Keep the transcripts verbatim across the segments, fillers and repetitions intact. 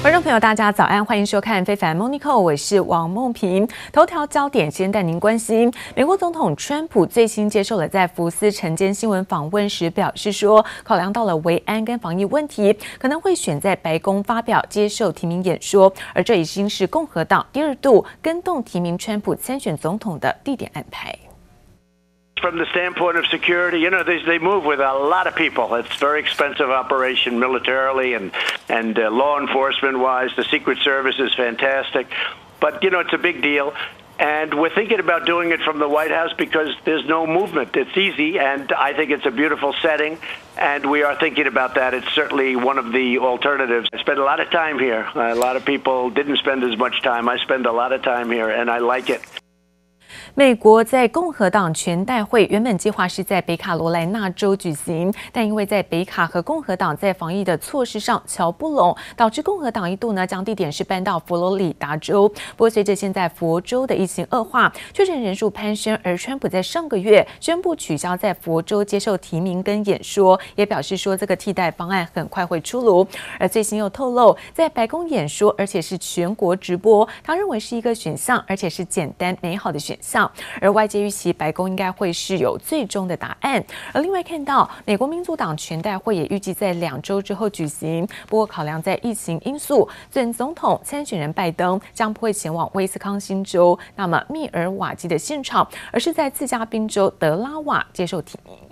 觀眾朋友，大家早安，歡迎收看《非凡 Morning Call》，我是王夢萍。頭條焦點先帶您關心，美國總統川普最新接受了在福斯晨間新聞訪問時表示說，考量到了維安跟防疫問題，可能會選在白宮發表接受提名演說，而這已經是共和黨第二度更動提名川普參選總統的地點安排。 From the standpoint of security, you know, they, they move with a lot of people. It's a very expensive operation militarily and, and uh, law enforcement-wise. The Secret Service is fantastic. But, you know, it's a big deal. And we're thinking about doing it from the White House because there's no movement. It's easy, and I think it's a beautiful setting. And we are thinking about that. It's certainly one of the alternatives. I spend a lot of time here. A lot of people didn't spend as much time. I spend a lot of time here, and I like it. 美國在共和黨全代會原本計劃是在北卡羅來納州舉行，但因為在北卡和共和黨在防疫的措施上喬不攏，導致共和黨一度呢將地點是搬到佛羅里達州。不過隨着現在佛州的疫情惡化，確診人數攀升，而川普在上個月宣布取消在佛州接受提名跟演說，也表示說這個替代方案很快會出爐。而最新又透露，在白宮演說，而且是全國直播，他認為是一個選項，而且是簡單美好的選項。而外界預期白宮應該會是有最終的答案。而另外看到美國民主黨全代會也預計在兩週之後舉行，不過考量在疫情因素，準總統參選人拜登將不會前往威斯康星州那麼密爾瓦基的現場，而是在自家賓州德拉瓦接受提名。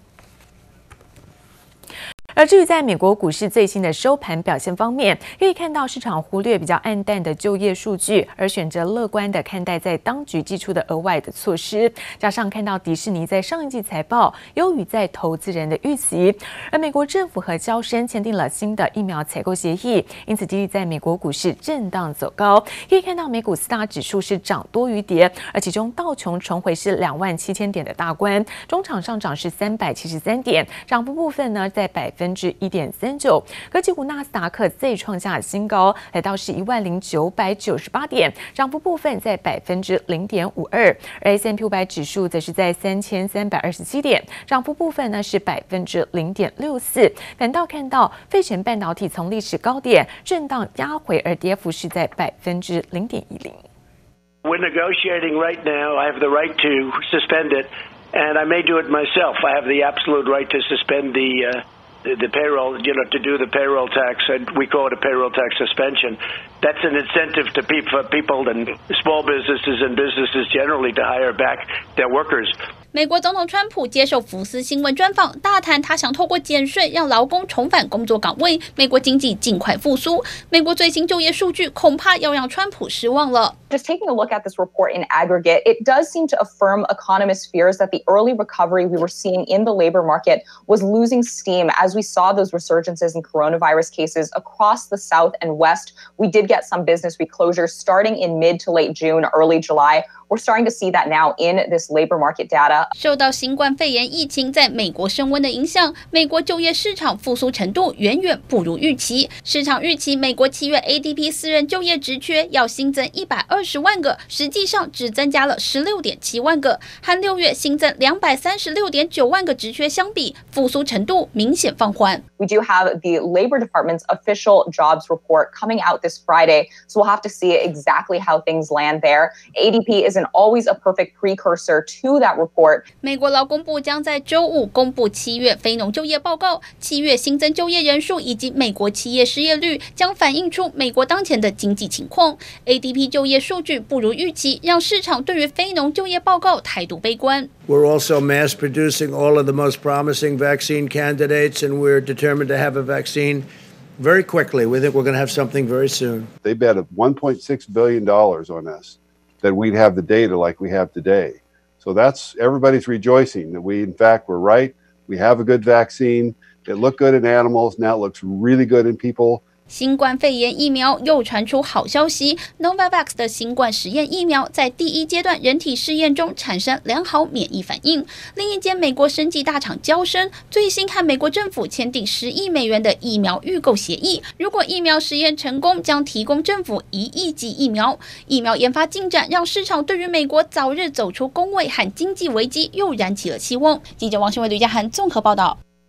而至於在美國股市最新的收盤表現方面，可以看到市場忽略比較暗淡的就業數據，而選擇樂觀的看待在當局祭出的額外的措施。加上看到迪士尼在上一季財報優於在投資人的預期，而美國政府和嬌生簽訂了新的疫苗採購協議，因此激勵在美國股市震盪走高。可以看到美股四大指數是漲多於跌，而其中道瓊重回是兩萬七千點的大關，中場上漲是三百七十三點，漲幅部分呢在百分。百分之一點三九，科技股納斯達克再創下新高，來到是一萬零九百九十八點，漲幅部分在百分之零點五二，而 S and P 五百指數則是在三千三百二十七點，漲幅部分呢是百分之零點六四。反倒看到費城半導體從歷史高點震盪壓回，而跌幅是在百分之零點一零。 We're negotiating right now. I have the right to suspend it, and I may do it myself. I have the absolute right to suspend the. Uh The, the payroll, you know, to do the payroll tax, and we call it a payroll tax suspension. That's an incentive to people, for people and small businesses and businesses generally to hire back their workers. 美國總統川普接受福斯新聞專訪，大談他想透過減稅讓勞工重返工作崗位，美國經濟盡快復甦。美國最新就業數據恐怕要讓川普失望了。 Just taking a look at this report in aggregate, it does seem to affirm economists' fears that the early recovery we were seeing in the labor market was losing steam as we saw those resurgences in coronavirus cases across the South and West. We did get some business reclosures starting in mid to late June, early July. We're starting to see that now in this labor market data. 受到新冠肺炎疫情在美國升溫的影響，美國就業市場復甦程度遠遠不如預期。市場預期美國七月 A D P 私人就業職缺要新增一百二十萬個，實際上只增加了十六點七萬個，和六月新增兩百三十六點九萬個職缺相比，復甦程度明顯放緩。 We do have the Labor Department's official jobs report coming out this Friday, so we'll have to see exactly how things land there. A D P isn't always a perfect precursor to that report. 美國勞工部將在週五公布七月非農就業報告，七月新增就業人數以及美國企業失業率將反映出美國當前的經濟情況。A D P 就業數據不如預期，讓市場對於非農就業報告態度悲觀。 We're also mass producing all of the most promising vaccine candidates, and we're determined to have a vaccine very quickly. We think we're going to have something very soon. They bet one point six billion dollars on us that we'd have the data like we have today. So that's everybody's rejoicing that we, in fact, were right. We have a good vaccine. It looked good in animals. Now it looks really good in people. 新冠肺炎疫苗又傳出好消息 ，Novavax 的新冠實驗疫苗在第一階段人體試驗中產生良好免疫反應。另一間美國生技大廠嬌生最新和美國政府簽訂十億美元的疫苗預購協議，如果疫苗實驗成功，將提供政府一億劑疫苗。疫苗研發進展讓市場對於美國早日走出工位和經濟危機又燃起了希望。記者王新偉、呂家涵綜合報道。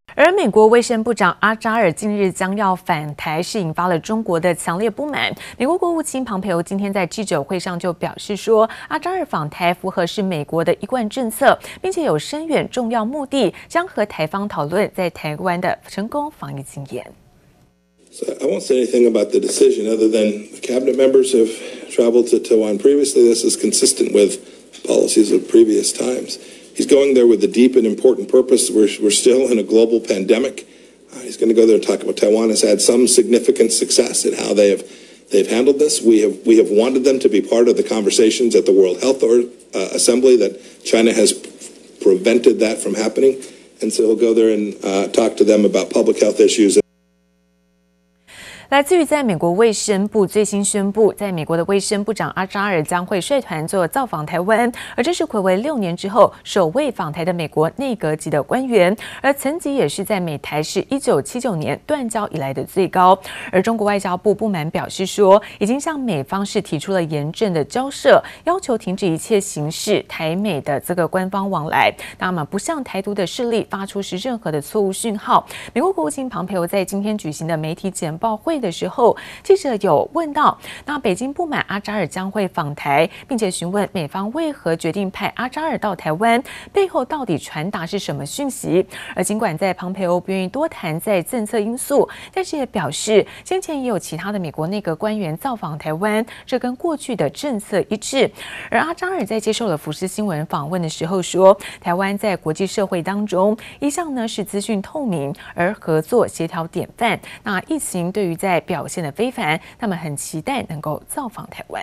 而美國衛生部長阿扎爾近日將要返台，是引發了中國的強烈不滿。美國國務卿龐培歐今天在記者會上就表示說，阿扎爾訪台符合是美國的一貫政策，並且有深遠重要目的，將和台方討論在台灣的成功防疫經驗。 So I won't say anything about the decision other than the cabinet members have traveled to Taiwan previously. This is consistent with policies of previous times. He's going there with a deep and important purpose. We're, we're still in a global pandemic. Uh, he's going to go there and talk about Taiwan has had some significant success in how they have they've handled this. We have we have wanted them to be part of the conversations at the World Health or, uh, Assembly that China has prevented that from happening. And so he'll go there and uh, talk to them about public health issues. 来自於在美國衛生部最新宣布，在美國的衛生部長阿扎爾將會率團做造訪台灣，而這是睽違六年之後首位訪台的美國內閣級的官員，而層級也是在美台是一九七九年斷交以來的最高。而中國外交部不滿表示說，已經向美方是提出了嚴正的交涉，要求停止一切形式台美的這個官方往來，那麼不向台獨的勢力發出是任何的錯誤訊號。美國國務卿龐培歐在今天舉行的媒體簡報會的時候，記者有問到，那北京不滿阿扎爾將會訪台，並且詢問美方為何決定派阿扎爾到台灣，背後到底傳達是什麼訊息？而儘管在龐培歐不願意多談在政策因素，但是也表示，先前也有其他的美國內閣官員造訪台灣，這跟過去的政策一致。而阿扎爾在接受了福斯新聞訪問的時候說，台灣在國際社會當中一向呢是資訊透明，而合作協調典範。那疫情對於在表現得非凡，他們很期待能夠造訪台灣。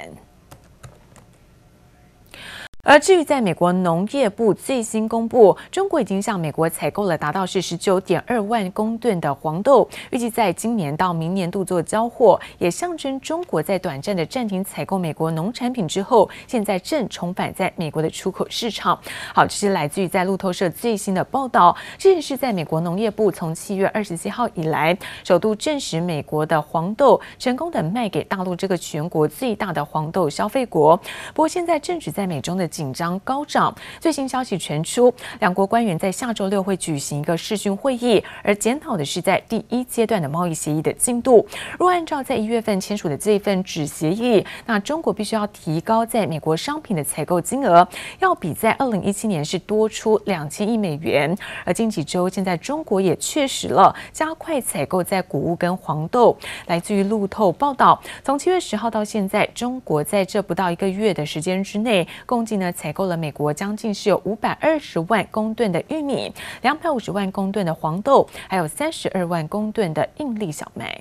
而至於在美國農業部最新公布，中國已經向美國採購了達到是十九點二萬公噸的黃豆，預計在今年到明年度做交貨，也象徵中國在短暫的暫停採購美國農產品之後，現在正重返在美國的出口市場。好，這是來自於在路透社最新的報道，這也是在美國農業部從七月二十七號以來，首度證實美國的黃豆成功的賣給大陸這個全國最大的黃豆消費國。不過現在正值在美中的緊張高漲，最新消息傳出，兩國官員在下周六會舉行一個視訊會議，而檢討的是在第一階段的貿易協議的進度。若按照在一月份簽署的這一份紙協議，那中國必須要提高在美國商品的採購金額，要比在二零一七年是多出兩千億美元。而近幾周，現在中國也確實了加快採購在穀物跟黃豆。來自於路透報道，從七月十號到現在，中國在這不到一個月的時間之內，共計呢採購了美國將近是有五百二十萬公噸的玉米，兩百五十萬公噸的黃豆，還有三十二萬公噸的印粒小麥。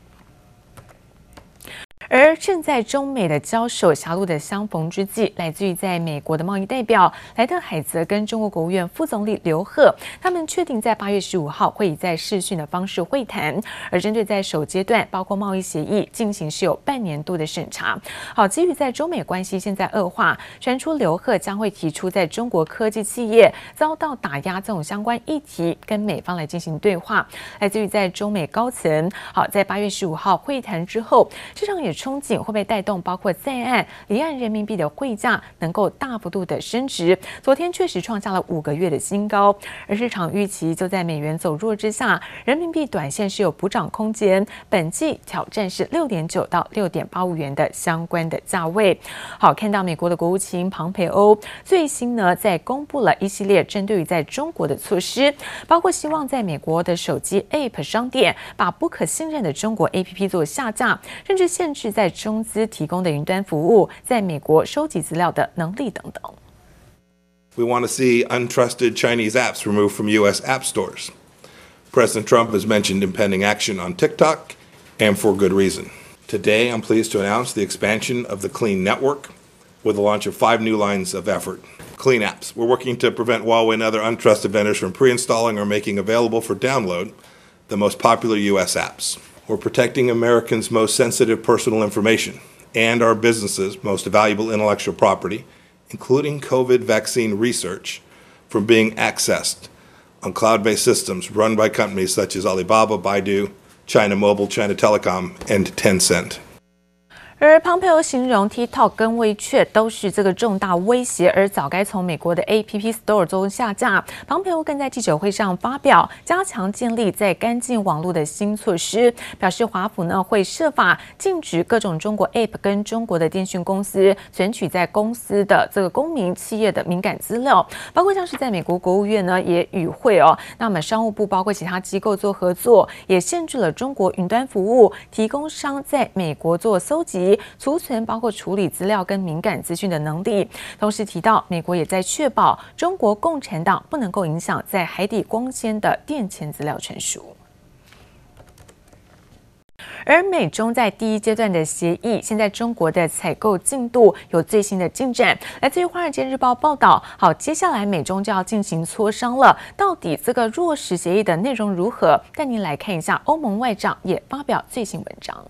而正在中美的交手狹路的相逢之際，來自於在美國的貿易代表萊特海澤跟中國國務院副總理劉鶴，他們確定在八月十五號會以在視訊的方式會談。而針對在首階段包括貿易協議進行是有半年度的審查。好，基於在中美關係現在惡化，傳出劉鶴將會提出在中國科技企業遭到打壓這種相關議題，跟美方來進行對話。來自於在中美高層，好，在八月十五號會談之後，市場也憧憬會不會帶動包括在岸、離岸人民幣的匯價能夠大幅度的升值？昨天確實創下了五個月的新高，而市場預期就在美元走弱之下，人民幣短線是有補漲空間，本季挑戰是六點九到六點八五元的相關的價位。好，看到美國的國務卿龐培歐最新呢在公布了一系列針對於在中國的措施，包括希望在美國的手機 App 商店把不可信任的中國 A P P 做下架，甚至限制在中資提供的雲端服務在美國收集資料的能力等等。 We want to see untrusted Chinese apps removed from U S app stores. President Trump has mentioned impending action on TikTok, and for good reason. Today, I'm pleased to announce the expansion of the Clean Network with the launch of five new lines of effort. Clean apps. We're working to prevent Huawei and other untrusted vendors from pre-installing or making available for download the most popular U S apps. We're protecting Americans' most sensitive personal information and our businesses' most valuable intellectual property, including COVID vaccine research, from being accessed on cloud-based systems run by companies such as Alibaba, Baidu, China Mobile, China Telecom, and Tencent. 而龐佩奧形容 TikTok 跟WeChat都是這個重大威脅，而早該從美國的 A P P Store 中下架。龐佩奧更在記者會上發表加強建立在乾淨網絡的新措施，表示華府呢會設法禁止各種中國 App 跟中國的電訊公司存取在公司的這個公民企業的敏感資料，包括像是在美國國務院呢也與會哦，那麼商務部包括其他機構做合作，也限制了中國雲端服務提供商在美國做搜集、儲存包括處理資料跟敏感資訊的能力，同時提到美國也在確保中國共產黨不能夠影響在海底光纖的電前資料傳輸。而美中在第一階段的協議，現在中國的採購進度有最新的進展。來自於《華爾街日報》報道，好，接下來美中就要進行磋商了，到底這個落實協議的內容如何？帶您來看一下，歐盟外長也發表最新文章。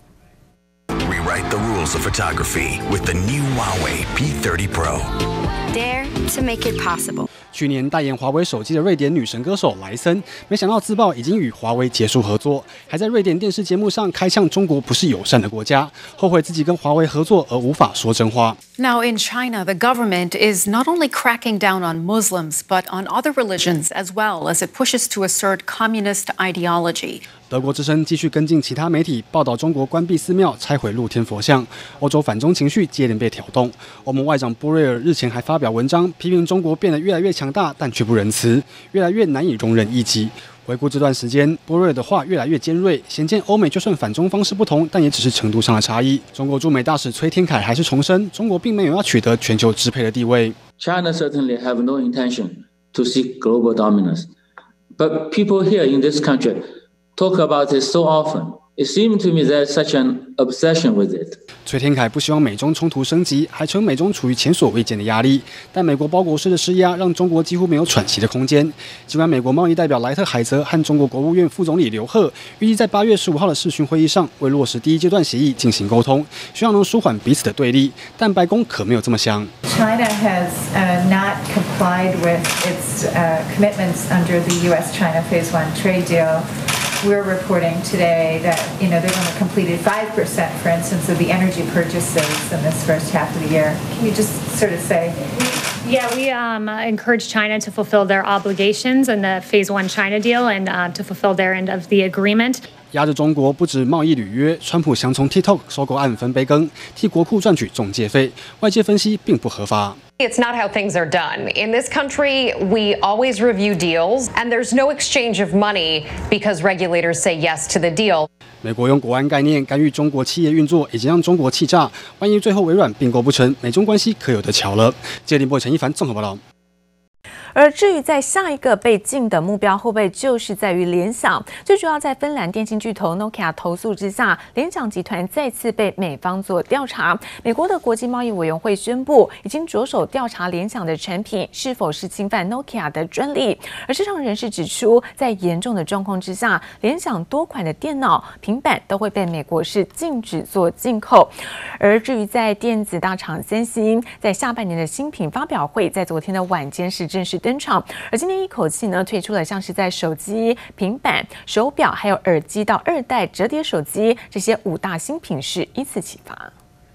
Rewrite the rules of photography with the new Huawei P thirty Pro. Dare to make it possible. 去年代言华為手機的瑞典女神歌手萊森，沒想到自曝已經與華為結束合作，還在瑞典電視節目上開嗆中國不是友善的國家，後悔自己跟華為合作而無法說真話。 Now in China, the government is not only cracking down on Muslims, but on other religions as well as it pushes to assert communist ideology. 德國之聲繼續跟進其他媒體報道中國關閉寺廟、拆毀露天佛像，歐洲反中情緒接連被挑動。歐盟外長波瑞爾日前還發表文章，批評中國變得越來越強大，但卻不仁慈，越來越難以容忍異己。回顧這段時間，波瑞爾的話越來越尖銳，顯見歐美就算反中方式不同，但也只是程度上的差異。中國駐美大使崔天凱還是重申，中國並沒有要取得全球支配的地位。 China certainly have no intention to seek global dominance, but people here in this country talk about it so often. It seemed to me there's such an obsession with it. 崔天凱不希望美中衝突升級，還稱美中處於前所未見的壓力。但美國包裹式的施壓讓中國幾乎沒有喘息的空間。儘管美國貿易代表萊特海澤和中國國務院副總理劉鶴預計在八月十五號的視訊會議上為落實第一階段協議進行溝通，希望能舒緩彼此的對立。但白宮可沒有這麼想。 China has uh, not complied with its uh, commitments under the U S China Phase One trade deal. We're reporting today that you know they've only completed five percent, for instance, of the energy purchases in this first half of the year. Can you just sort of say? Yeah, we um, encourage China to fulfill their obligations in the Phase One China deal and uh, to fulfill their end of the agreement. 壓着中國不止貿易履約，川普想從 TikTok 收購案分杯羹，替國庫賺取中介費。外界分析並不合法。 It's not how things are done. In this country, we always review deals, and there's no exchange of money because regulators say yes to the deal. 美國用國安概念干預中國企業運作，已經讓中國氣炸。萬一最後微軟併購不成，美中關係可有得瞧了。記者林博陳一凡綜合報道。 而至於在下一個被禁的目標，會不會就是在於聯想？最主要在芬蘭電信巨頭 Nokia 投訴之下，聯想集團再次被美方做調查。美國的國際貿易委員會宣布，已經着手調查聯想的產品是否是侵犯 Nokia 的專利。而市場人士指出，在嚴重的狀況之下，聯想多款的電腦、平板都會被美國是禁止做進口。而至於在電子大廠三星，在下半年的新品發表會，在昨天的晚間是正式登場，而今天一口氣呢推出了像是在手機、平板、手錶還有耳機到二代折疊手機這些五大新品是依次啟發。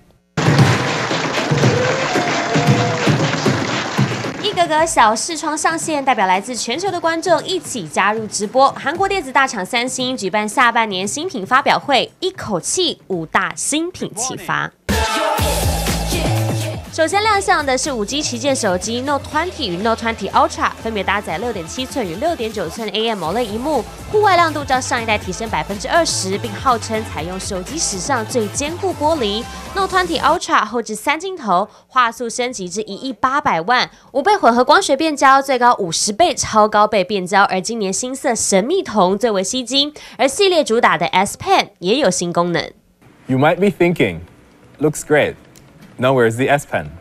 一個個小視窗上線，代表來自全球的觀眾一起加入直播。韓國電子大廠三星舉辦下半年新品發表會，一口氣五大新品啟發。首先亮相的是五 G 旗艦手機 Note 二十與 Note 二十 Ultra， 分別搭載六點七寸與六點九寸 A M O L E D 螢幕，戶外亮度較上一代提升百分之二十，並號稱採用手機史上最堅固玻璃。Note 二十 Ultra 後置三鏡頭，畫素升級至一億八百萬，五倍混合光學變焦，最高五十倍超高倍變焦。而今年新色神秘銅最為吸睛，而系列主打的 S Pen 也有新功能。 You might be thinking, looks great. Now where's the S Pen?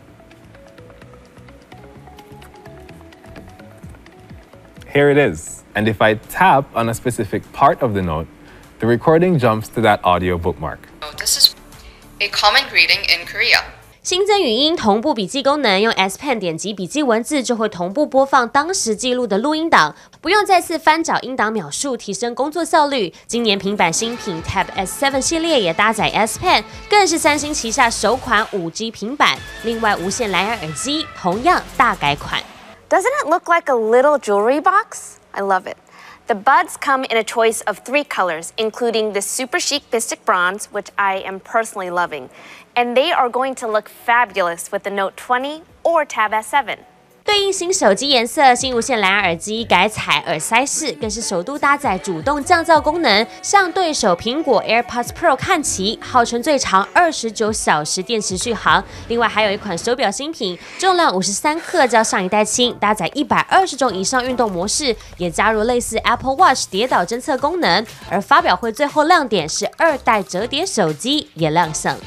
Here it is. And if I tap on a specific part of the note, the recording jumps to that audio bookmark. This is a common greeting in Korea. 新增語音同步筆記功能，用 S Pen 點擊筆記文字就會同步播放當時記錄的錄音檔，不用再次翻找音檔描述，提升工作效率。今年平板新品 Tab S 七 系列也搭載 S Pen， 更是三星旗下首款 五 G 平板。另外，無線藍牙耳機同樣大改款。 Doesn't it look like a little jewelry box? I love it. The buds come in a choice of three colors, including the super chic Mystic Bronze, which I am personally loving. And they are going to look fabulous with the Note twenty or Tab S seven. 对应新手機顏色，新無線藍牙耳機改採耳塞式，更是首度搭載主動降噪功能，向對手蘋果 AirPods Pro 看齊，號稱最長二十九小時電池續航。另外還有一款手錶新品，重量五十三克，較上一代輕，搭載一百二十種以上運動模式，也加入類似 Apple Watch 跌倒偵測功能。而發表會最後亮點是二代折疊手機也亮相。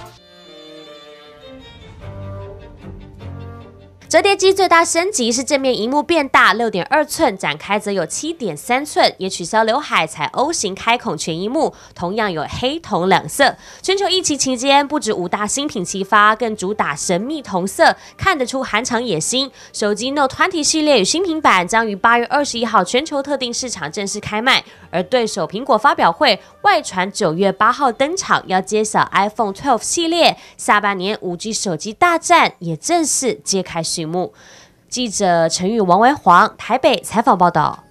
折疊機最大升級是正面螢幕變大 六點二寸，展開則有 七點三寸，也取消劉海，採 O 型開孔全螢幕，同樣有黑銅兩色。全球疫情期間，不止五大新品齊發，更主打神秘同色，看得出韓廠野心。手機 Note 二十系列與新平板將於八月二十一號全球特定市場正式開賣，而對手蘋果發表會外傳九月八號登場，要揭曉 iPhone 十二系列，下半年 五 G 手機大戰也正式揭開序幕。記者陳宇、王維煌台北採訪報道。